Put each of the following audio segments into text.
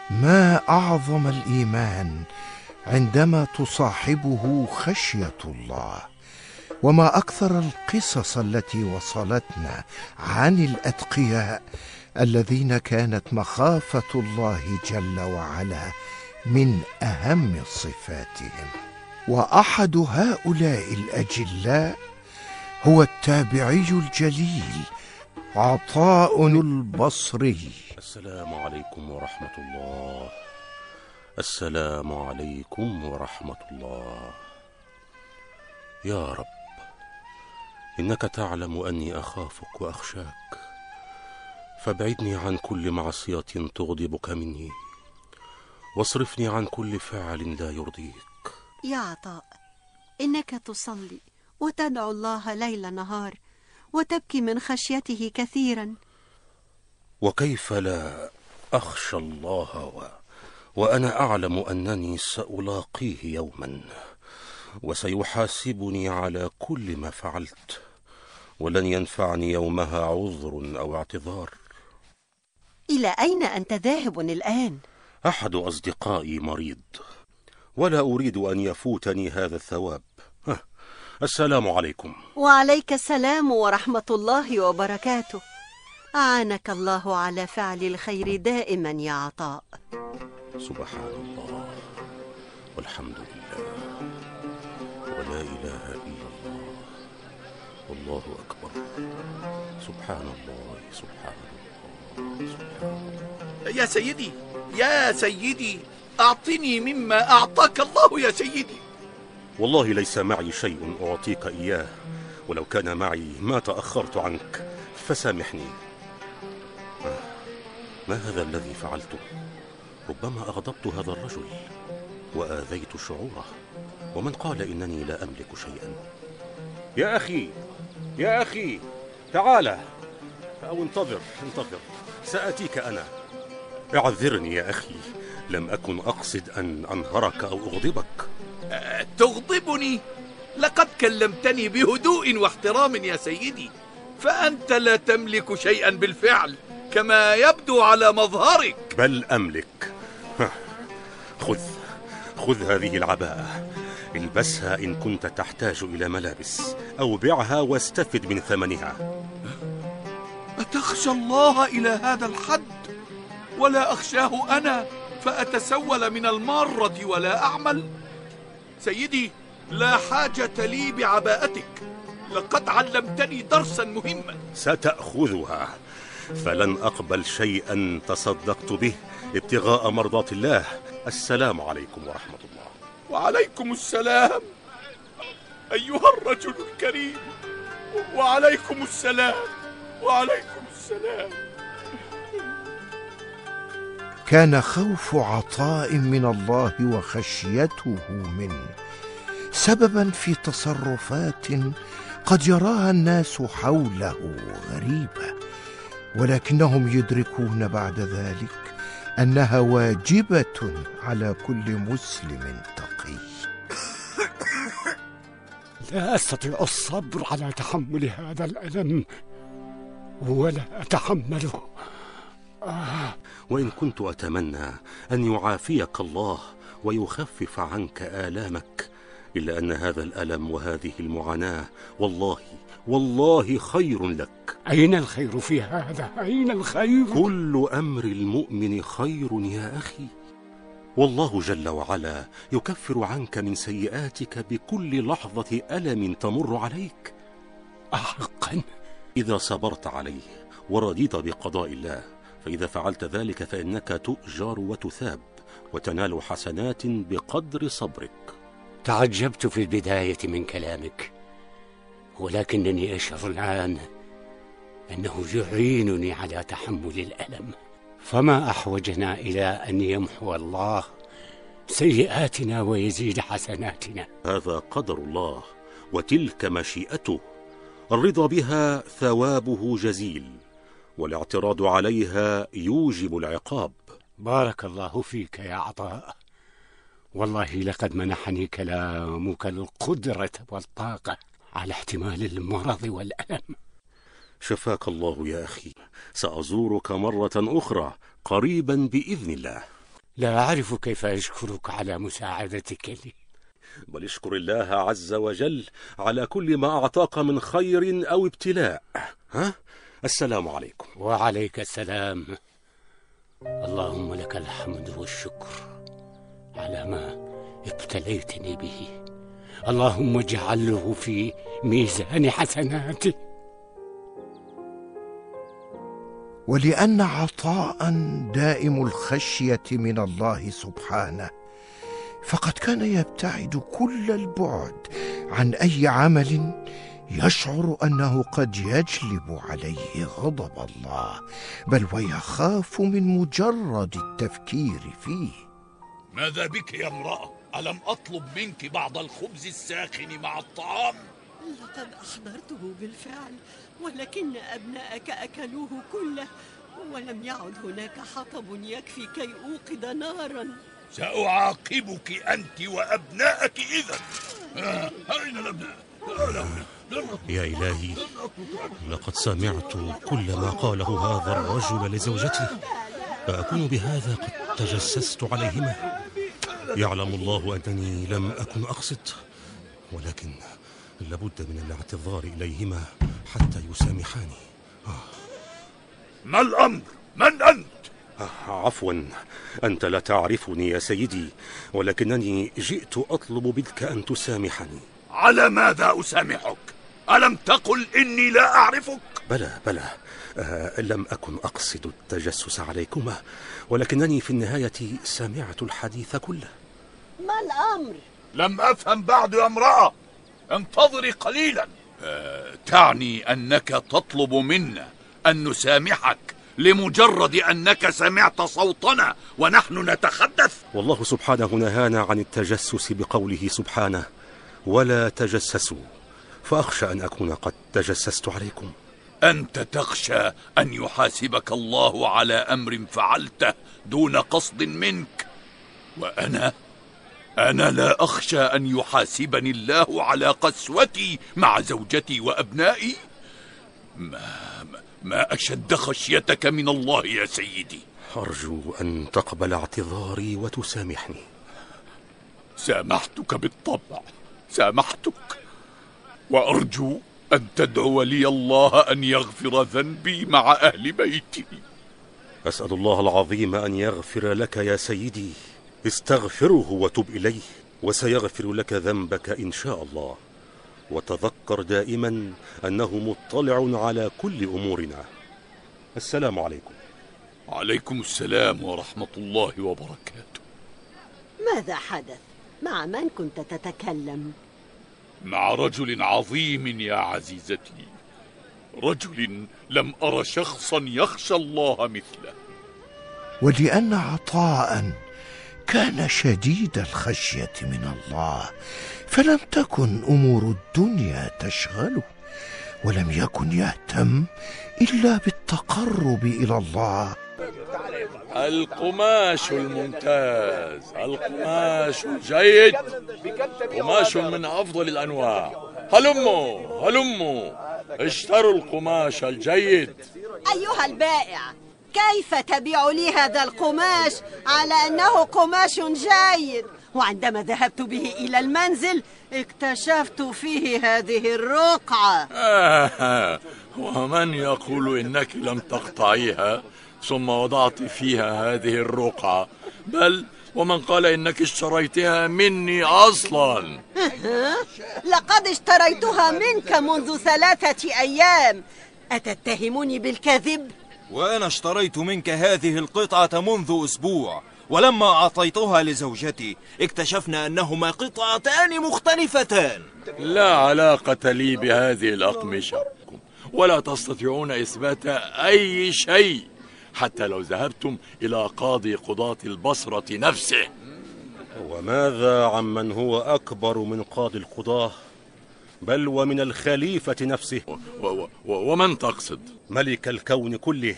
ما أعظم الإيمان عندما تصاحبه خشية الله، وما أكثر القصص التي وصلتنا عن الأتقياء الذين كانت مخافة الله جل وعلا من أهم صفاتهم. وأحد هؤلاء الأجلاء هو التابعي الجليل عطاء البصري. السلام عليكم ورحمة الله. السلام عليكم ورحمة الله. يا رب، إنك تعلم أني أخافك وأخشاك، فابعدني عن كل معصية تغضبك مني، واصرفني عن كل فعل لا يرضيك. يا عطاء، إنك تصلي وتدعو الله ليل نهار وتبكي من خشيته كثيرا، وكيف لا أخشى الله وأنا أعلم أنني سألاقيه يوما وسيحاسبني على كل ما فعلت، ولن ينفعني يومها عذر أو اعتذار. إلى أين أنت ذاهب الآن؟ أحد أصدقائي مريض، ولا أريد أن يفوتني هذا الثواب. السلام عليكم. وعليك السلام ورحمة الله وبركاته. أعانك الله على فعل الخير دائما يا عطاء. سبحان الله، والحمد لله، ولا إله إلا الله، والله أكبر. سبحان الله، سبحان الله، سبحان الله. يا سيدي، يا سيدي، أعطني مما أعطاك الله يا سيدي. والله ليس معي شيء أعطيك إياه، ولو كان معي ما تأخرت عنك، فسامحني. ما هذا الذي فعلته؟ ربما أغضبت هذا الرجل وآذيت شعوره، ومن قال إنني لا أملك شيئا؟ يا أخي، يا أخي، تعال، أو انتظر، سأتيك أنا. اعذرني يا أخي، لم أكن أقصد أن أنهرك أو أغضبك. تغضبني؟ لقد كلمتني بهدوء واحترام يا سيدي، فأنت لا تملك شيئا بالفعل كما يبدو على مظهرك. بل أملك. خذ هذه العباءة، البسها إن كنت تحتاج إلى ملابس، أو بعها واستفد من ثمنها. أتخشى الله إلى هذا الحد؟ ولا أخشاه أنا فأتسول من المارة ولا أعمل؟ سيدي، لا حاجة لي بعباءتك، لقد علمتني درسا مهما. ستأخذها، فلن أقبل شيئا تصدقت به ابتغاء مرضات الله. السلام عليكم ورحمة الله. وعليكم السلام أيها الرجل الكريم. وعليكم السلام، وعليكم السلام. كان خوف عطاء من الله وخشيته منه سببا في تصرفات قد يراها الناس حوله غريبة، ولكنهم يدركون بعد ذلك أنها واجبة على كل مسلم تقي. لا أستطيع الصبر على تحمل هذا الألم، ولا أتحمله. وإن كنت أتمنى أن يعافيك الله ويخفف عنك آلامك، إلا أن هذا الألم وهذه المعاناة والله خير لك. أين الخير في هذا؟ أين الخير؟ كل أمر المؤمن خير يا أخي، والله جل وعلا يكفر عنك من سيئاتك بكل لحظة ألم تمر عليك. أحقا؟ إذا صبرت عليه ورضيت بقضاء الله، فإذا فعلت ذلك فإنك تؤجر وتثاب وتنال حسنات بقدر صبرك. تعجبت في البداية من كلامك، ولكنني أشعر الآن أنه يعينني على تحمل الألم. فما أحوجنا إلى أن يمحو الله سيئاتنا ويزيد حسناتنا. هذا قدر الله وتلك مشيئته، الرضا بها ثوابه جزيل، والاعتراض عليها يوجب العقاب. بارك الله فيك يا عطاء، والله لقد منحني كلامك القدرة والطاقة على احتمال المرض والألم. شفاك الله يا أخي، سأزورك مرة أخرى قريبا بإذن الله. لا أعرف كيف أشكرك على مساعدتك لي. بل اشكر الله عز وجل على كل ما أعطاك من خير أو ابتلاء. السلام عليكم. وعليك السلام. اللهم لك الحمد والشكر على ما ابتليتني به. اللهم اجعله في ميزان حسناتي. ولأن عطاء دائم الخشية من الله سبحانه، فقد كان يبتعد كل البعد عن أي عمل يشعر أنه قد يجلب عليه غضب الله، بل ويخاف من مجرد التفكير فيه. ماذا بك يا امرأة؟ ألم أطلب منك بعض الخبز الساخن مع الطعام؟ لقد أحضرته بالفعل، ولكن أبناءك أكلوه كله، ولم يعد هناك حطب يكفي كي أوقد نارا. سأعاقبك أنت وأبناءك إذن. أين الأبناء؟ يا إلهي، لقد سمعت كل ما قاله هذا الرجل لزوجته، فأكون بهذا قد تجسست عليهما. يعلم الله أنني لم أكن أقصد، ولكن لابد من الاعتذار إليهما حتى يسامحاني. ما الأمر؟ من أنت؟ عفوا، أنت لا تعرفني يا سيدي، ولكنني جئت أطلب منك أن تسامحني. على ماذا أسامحك؟ ألم تقل إني لا أعرفك؟ بلى، لم أكن أقصد التجسس عليكما، ولكنني في النهاية سمعت الحديث كله. ما الأمر؟ لم أفهم بعد يا امرأة، انتظري قليلا. تعني أنك تطلب منا أن نسامحك لمجرد أنك سمعت صوتنا ونحن نتحدث؟ والله سبحانه نهانا عن التجسس بقوله سبحانه: ولا تجسسوا، فأخشى أن أكون قد تجسست عليكم. أنت تخشى أن يحاسبك الله على أمر فعلته دون قصد منك، وأنا لا أخشى أن يحاسبني الله على قسوتي مع زوجتي وأبنائي. ما أشد خشيتك من الله يا سيدي. أرجو أن تقبل اعتذاري وتسامحني. سامحتك بالطبع، سامحتك، وأرجو أن تدعو لي الله أن يغفر ذنبي مع أهل بيتي. أسأل الله العظيم أن يغفر لك يا سيدي. استغفره وتب إليه، وسيغفر لك ذنبك إن شاء الله. وتذكر دائما أنه مطلع على كل أمورنا. السلام عليكم. عليكم السلام ورحمة الله وبركاته. ماذا حدث؟ مع من كنت تتكلم؟ مع رجل عظيم يا عزيزتي، رجل لم أر شخصا يخشى الله مثله. ولأن عطاء كان شديد الخشية من الله، فلم تكن أمور الدنيا تشغله، ولم يكن يهتم إلا بالتقرب إلى الله. القماش الممتاز، القماش الجيد، قماش من أفضل الأنواع. هلموا اشتروا القماش الجيد. أيها البائع، كيف تبيع لي هذا القماش على أنه قماش جيد؟ وعندما ذهبت به إلى المنزل اكتشفت فيه هذه الرقعة. ومن يقول إنك لم تقطعيها ثم وضعت فيها هذه الرقعة؟ بل ومن قال إنك اشتريتها مني أصلا؟ لقد اشتريتها منك منذ 3 أيام. أتتهمني بالكذب؟ وأنا اشتريت منك هذه القطعة منذ أسبوع، ولما أعطيتها لزوجتي اكتشفنا أنهما قطعتان مختلفتان. لا علاقة لي بهذه الأقمشة، ولا تستطيعون إثبات أي شيء حتى لو ذهبتم إلى قاضي قضاة البصرة نفسه. وماذا عمن هو أكبر من قاضي القضاة، بل ومن الخليفة نفسه؟ ومن تقصد؟ ملك الكون كله،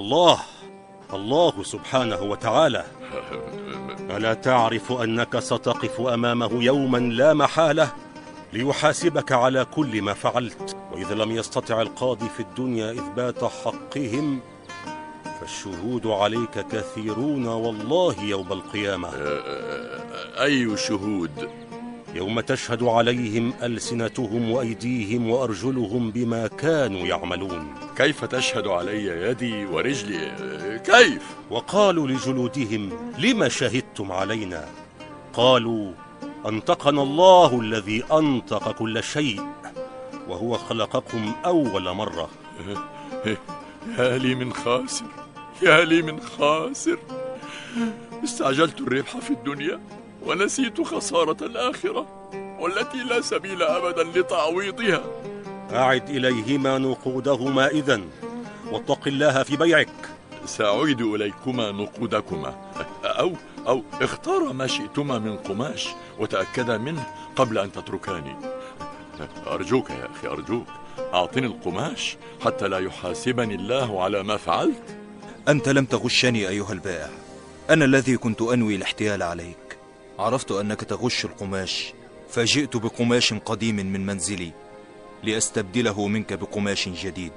الله سبحانه وتعالى. ألا تعرف أنك ستقف أمامه يوما لا محالة ليحاسبك على كل ما فعلت؟ وإذا لم يستطع القاضي في الدنيا إثبات حقهم، فالشهود عليك كثيرون والله يوم القيامة. أي شهود؟ يوم تشهد عليهم ألسنتهم وأيديهم وأرجلهم بما كانوا يعملون. كيف تشهد علي يدي ورجلي؟ كيف؟ وقالوا لجلودهم: لم شهدتم علينا؟ قالوا: أنطقنا الله الذي أنطق كل شيء، وهو خلقكم أول مرة. يا لي من خاسر، يا لي من خاسر. استعجلت الربح في الدنيا ونسيت خسارة الآخرة، والتي لا سبيل أبدا لتعويضها. أعد إليهما نقودهما إذن، واتق الله في بيعك. سأعيد إليكما نقودكما، أو اختار ما شئتما من قماش وتأكدا منه قبل أن تتركاني. أرجوك يا أخي، أرجوك أعطني القماش حتى لا يحاسبني الله على ما فعلت. أنت لم تغشني أيها البائع، أنا الذي كنت أنوي الاحتيال عليك. عرفت أنك تغش القماش، فجئت بقماش قديم من منزلي لأستبدله منك بقماش جديد.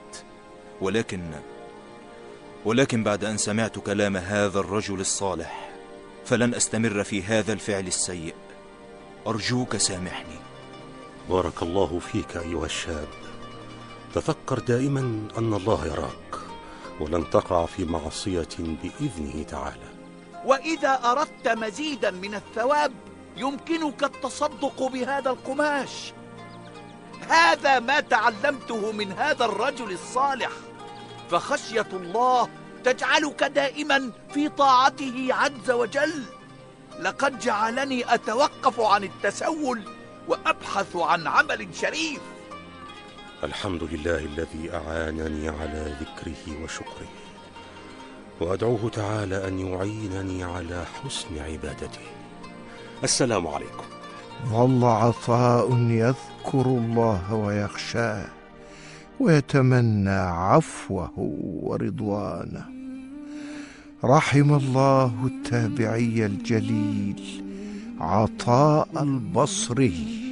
ولكن بعد أن سمعت كلام هذا الرجل الصالح فلن أستمر في هذا الفعل السيء. أرجوك سامحني. بارك الله فيك أيها الشاب. تذكر دائما أن الله يراك، ولن تقع في معصية بإذنه تعالى. وإذا أردت مزيدا من الثواب يمكنك التصدق بهذا القماش. هذا ما تعلمته من هذا الرجل الصالح، فخشية الله تجعلك دائما في طاعته عز وجل. لقد جعلني أتوقف عن التسول وأبحث عن عمل شريف. الحمد لله الذي أعانني على ذكره وشكره، وأدعوه تعالى أن يعينني على حسن عبادته. السلام عليكم. ظل عطاء يذكر الله ويخشاه ويتمنى عفوه ورضوانه. رحم الله التابعي الجليل عطاء البصري.